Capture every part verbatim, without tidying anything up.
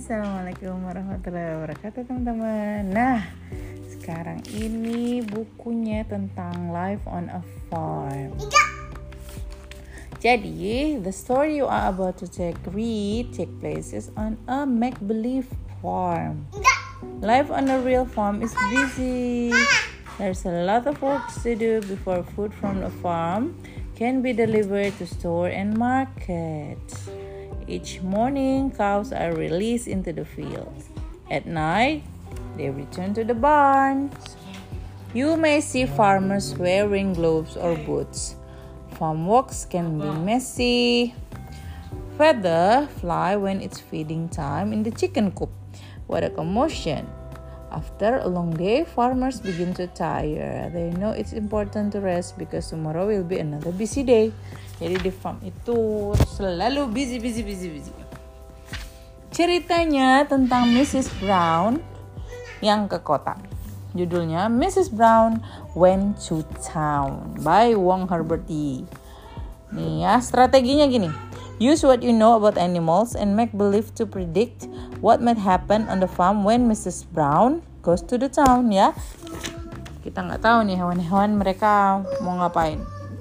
Assalamualaikum warahmatullahi wabarakatuh teman-teman. Nah, sekarang ini bukunya tentang life on a farm. Jadi, the story you are about to take read take places on a make-believe farm. Life on a real farm is busy. There's a lot of work to do before food from the farm can be delivered to store and market. Each morning, cows are released into the fields. At night, they return to the barns. You may see farmers wearing gloves or boots. Farm walks can be messy. Feather fly when it's feeding time in the chicken coop. What a commotion! After a long day, farmers begin to tire. They know it's important to rest because tomorrow will be another busy day. Jadi di farm itu selalu busy, busy, busy, busy. Ceritanya tentang missus Brown yang ke kota. Judulnya missus Brown Went to Town by Wong Herbert Yi. Nih ya, strateginya gini. Use what you know about animals and make believe to predict what might happen on the farm when missus Brown goes to the town, ya. Kita nggak tahu nih hewan-hewan mereka mau ngapain.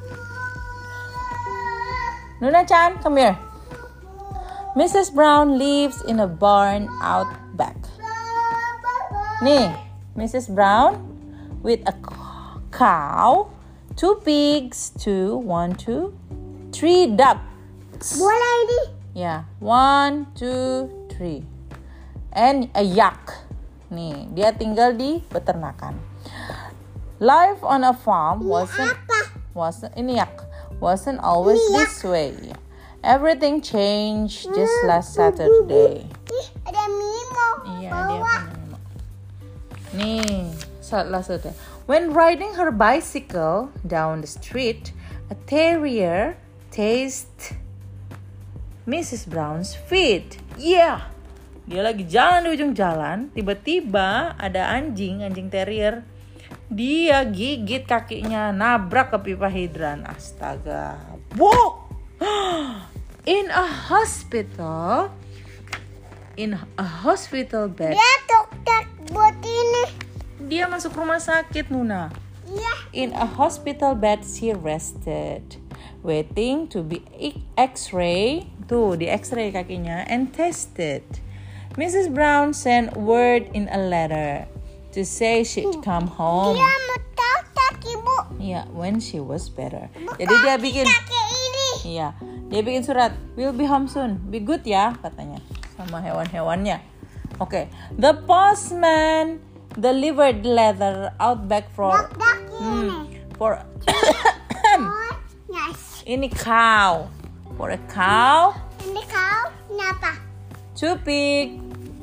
Nuna-chan, come here. missus Brown lives in a barn out back. Nih, missus Brown with a cow, two pigs, two, one, two, three ducks. Bola ini. Ya, one, two, three. And a yak. Nih, dia tinggal di peternakan. Life on a farm wasn't wasn't ini yak wasn't always this way. Everything changed just last Saturday. Ih, ada Mimo. Iya, dia punya Mimo. Nih, last Saturday. When riding her bicycle down the street, a terrier tasted missus Brown's feet. Yeah. Dia lagi jalan di ujung jalan, tiba-tiba ada anjing, anjing terrier. Dia gigit kakinya, nabrak ke pipa hidran. Astaga. Wow. In a hospital, in a hospital bed. Dia dokter buat ini. Dia masuk rumah sakit, Nuna. Iya. In a hospital bed, she rested, waiting to be X-ray. Tuh, di X-ray kakinya and tested. missus Brown sent word in a letter to say she'd come home. Dia mau tahu kaki, Bu. Iya, when she was better. Bu, Jadi dia kaki, bikin kaki ini. Iya, dia bikin surat. We'll be home soon. Be good ya, katanya. Sama hewan-hewannya. Oke, okay. The postman delivered the letter out back for Dok-dok ini. hmm, for Oh, yes. ini cow. For a cow, Ini kau, kenapa? two pig,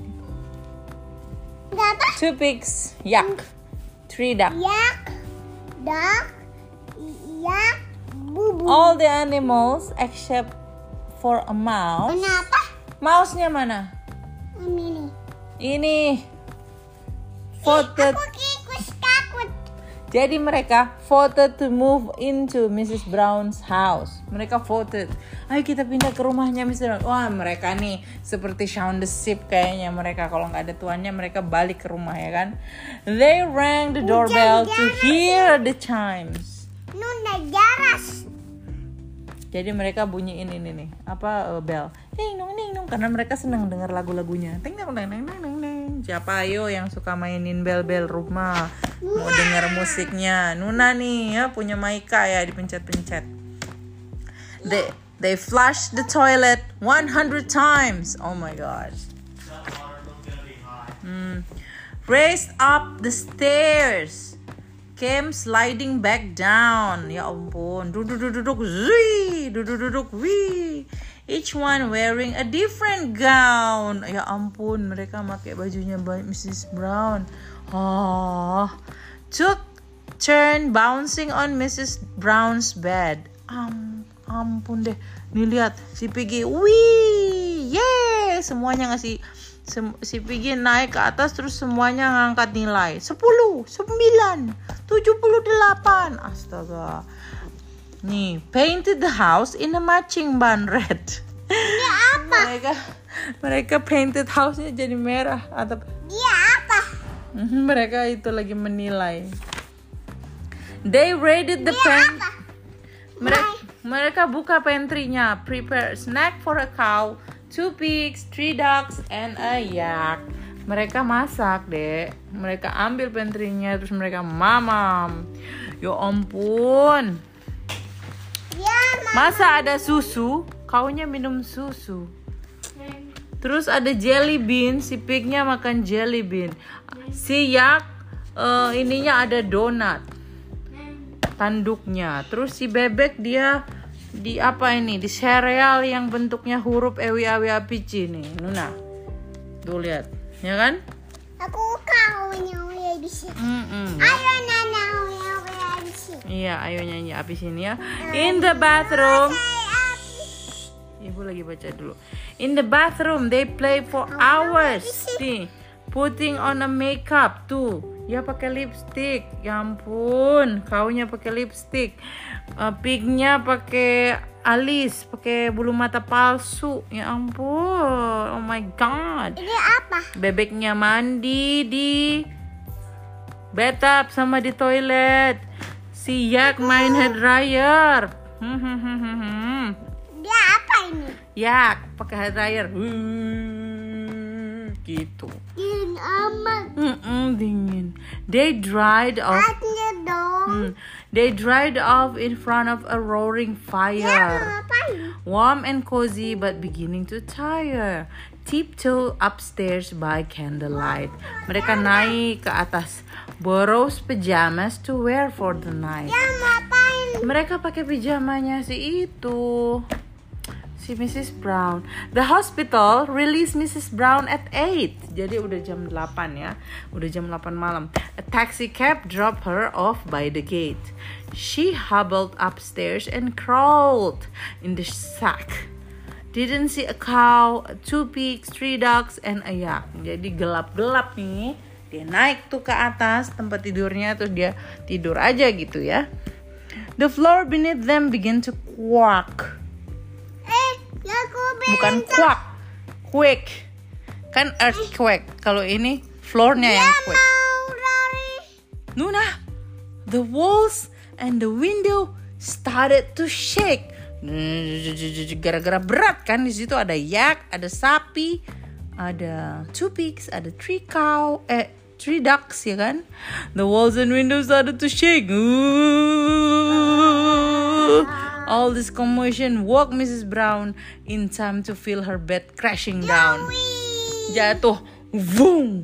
Kenapa? two pigs, yak, three duck. Yak, dok, yak, bubu. All the animals except for a mouse. Kenapa? Mouse-nya mana? Ini. Ini. Voted. Aku kikus takut. Jadi mereka voted to move into missus Brown's house. Mereka voted. Ayo kita pindah ke rumahnya missus Brown. Wah, mereka nih seperti Shaun the Sheep kayaknya. Mereka kalau nggak ada tuannya mereka balik ke rumah, ya kan. They rang the doorbell to hear the chimes. Nunda jaras. Jadi mereka bunyiin ini nih, apa uh, bell. Ding dong ding dong, karena mereka senang dengar lagu-lagunya. Ting dong ding ding ding ding. Siapa ayo yang suka mainin bel-bel rumah? Mau dengar musiknya. Nuna nih ya punya Maika ya, dipencet-pencet. They they flush the toilet one hundred times. Oh my gosh. Hmm. Raced up the stairs. Came sliding back down. Ya ampun. Duduk-duduk. Zui. Duduk-duduk. Wih. Each one wearing a different gown. Ya ampun. Mereka pakai bajunya missus Brown. Oh. Took turn bouncing on missus Brown's bed. Am, ampun deh. Nih lihat. Si Piggy. Wih. Yeay. Semuanya ngasih. Si Piggy naik ke atas terus semuanya ngangkat nilai sepuluh, sembilan, tujuh puluh delapan. Astaga. Nih, painted the house in a matching bun red. Ini apa? Mereka Mereka painted house-nya jadi merah atau Dia apa? mereka itu lagi menilai. They raided the Dia pen. apa? Mereka, mereka buka pantry-nya. Prepare snack for a cow, two pigs, three ducks, and a yak. Mereka masak, Dek. Mereka ambil pantry-nya terus mereka mamam. Ya ampun. Dia Masa ada susu? Kaunya minum susu. Terus ada jelly bean, si pignya makan jelly bean. Si yak uh, ininya ada donat. Tanduknya. Terus si bebek dia di apa ini? Di sereal yang bentuknya huruf E W A W A P C nih. Nuna. Tuh lihat. Ya kan? Aku kaunya uya di sini. Mm-mm. Ayo nana uya uya di sini. Iya, ayo nyanyi api sini ya. In the bathroom. Ibu lagi baca dulu. In the bathroom, they play for hours. Nih, putting on a makeup tuh. Ya pakai lipstick. Ya ampun, kaunya pakai lipstick. Uh, pignya pakai alis, pakai bulu mata palsu. Ya ampun, oh my god. Ini apa? Bebeknya mandi di bathtub sama di toilet. Si yak main hair dryer. Hmm, hmm, hmm, hmm, hmm. Dia apa ini? Yak pakai hair dryer. Hmm, gitu. Dingin amat. Mm-mm, dingin. They dried off. Hatinya dong. Hmm, they dried off in front of a roaring Dia fire. mau ngapain? Warm and cozy but beginning to tire. Tiptoe upstairs by candlelight. Mereka naik ke atas. Borrows pajamas to wear for the night. Dia mau ngapain? Mereka pakai pijamanya si itu. Si Missus Brown. The hospital released Missus Brown at eight. Jadi udah jam delapan ya. Udah jam delapan malam. A taxi cab dropped her off by the gate. She hobbled upstairs and crawled in the sack. Didn't see a cow, two pigs, three ducks, and a yak. Jadi gelap-gelap nih. Dia naik tuh ke atas tempat tidurnya. Terus dia tidur aja gitu ya. The floor beneath them began to quack. Eh, ya aku Bukan quack, quake. Kan earthquake. Kalau ini floornya yang quake. mau lari. Nuna, the walls and the window started to shake. Gara-gara berat kan, di situ ada yak, ada sapi, ada two pigs, ada three cow, eh three ducks ya kan. The walls and windows started to shake. Ooh. All this commotion woke Missus Brown in time to feel her bed crashing down. Jatuh, boom,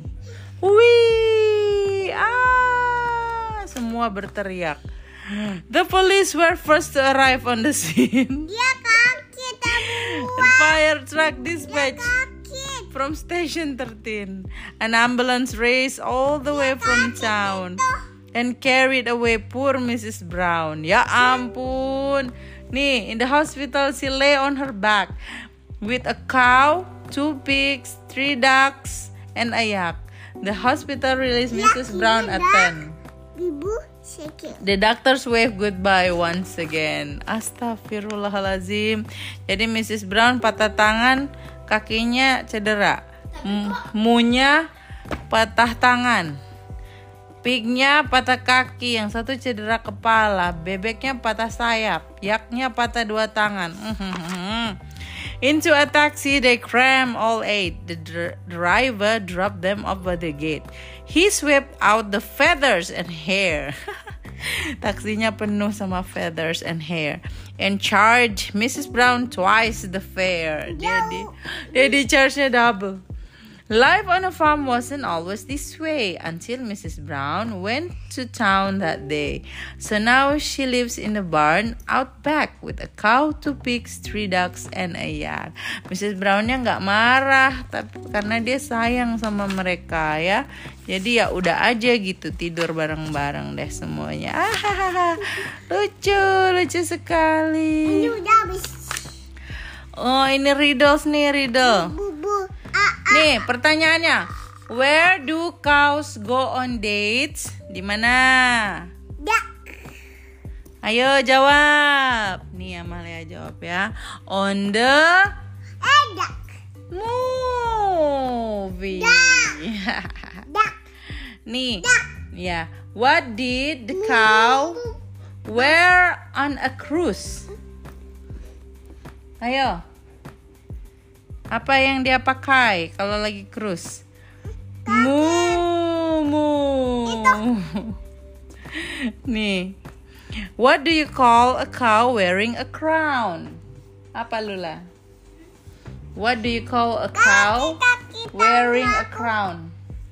wih, ah, semua berteriak. The police were first to arrive on the scene. Dia kaki tabu. The fire truck dispatched Kaki. from station thirteen. An ambulance raced all the way from town and carried away poor Missus Brown. Ya ampun. Nih, in the hospital she lay on her back with a cow, two pigs, three ducks, and a yak. The hospital released Missus Brown at ten. Ibu sakit. The doctors wave goodbye once again. Astagfirullahalazim. Jadi Missus Brown patah tangan, kakinya cedera. M- Munya patah tangan. Pignya patah kaki, yang satu cedera kepala. Bebeknya patah sayap. Yaknya patah dua tangan. Into a taxi, they cram all eight. The dr- driver dropped them off by the gate. He swept out the feathers and hair. Taksinya penuh sama feathers and hair. And charged Missus Brown twice the fare. Dia di, dia di charge-nya double. Life on a farm wasn't always this way until Missus Brown went to town that day. So now she lives in a barn out back with a cow, two pigs, three ducks, and a yak. Missus Brownnya nggak marah, tapi karena dia sayang sama mereka ya. Jadi ya udah aja gitu tidur bareng-bareng deh semuanya. Ah, lucu, lucu sekali. Ini udah habis. Oh ini riddles nih riddle. Bubu. Ah, Nih pertanyaannya, where do cows go on dates? Di mana? dak. Ayo jawab. Nih Amalia jawab ya. On the Eh, dak. movie. Duck. Nih, ya. What did the cow wear on a cruise? Ayo. Apa yang dia pakai kalau lagi cruise? Mumu. Nih. What do you call a cow wearing a crown? Apa Lula? What do you call a cow wearing a crown?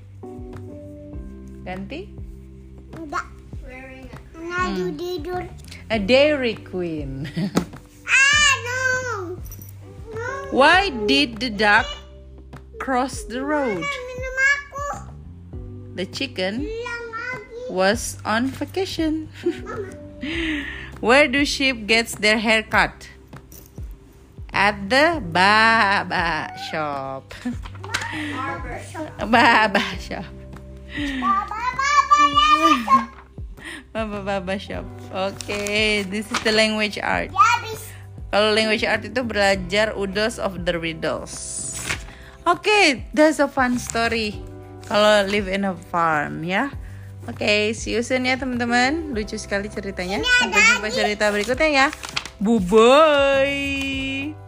Ganti? Duck. Wearing a crown. Tidur. A dairy queen. Ah, no. No. Why did the duck cross the road? Minum aku. The chicken Bilang lagi. was on vacation. Mama. Where do sheep get their hair cut? At the barber shop. Barber shop. Barber shop. Baba, baba, ya. Barber barber shop. Okay, this is the language art. Ya, habis. Kalau language art itu belajar Oodles of the Riddles. Okay, that's a fun story. Kalau live in a farm ya. Oke, okay, see you soon ya teman-teman. Lucu sekali ceritanya. Sampai jumpa cerita berikutnya ya. Bye bye.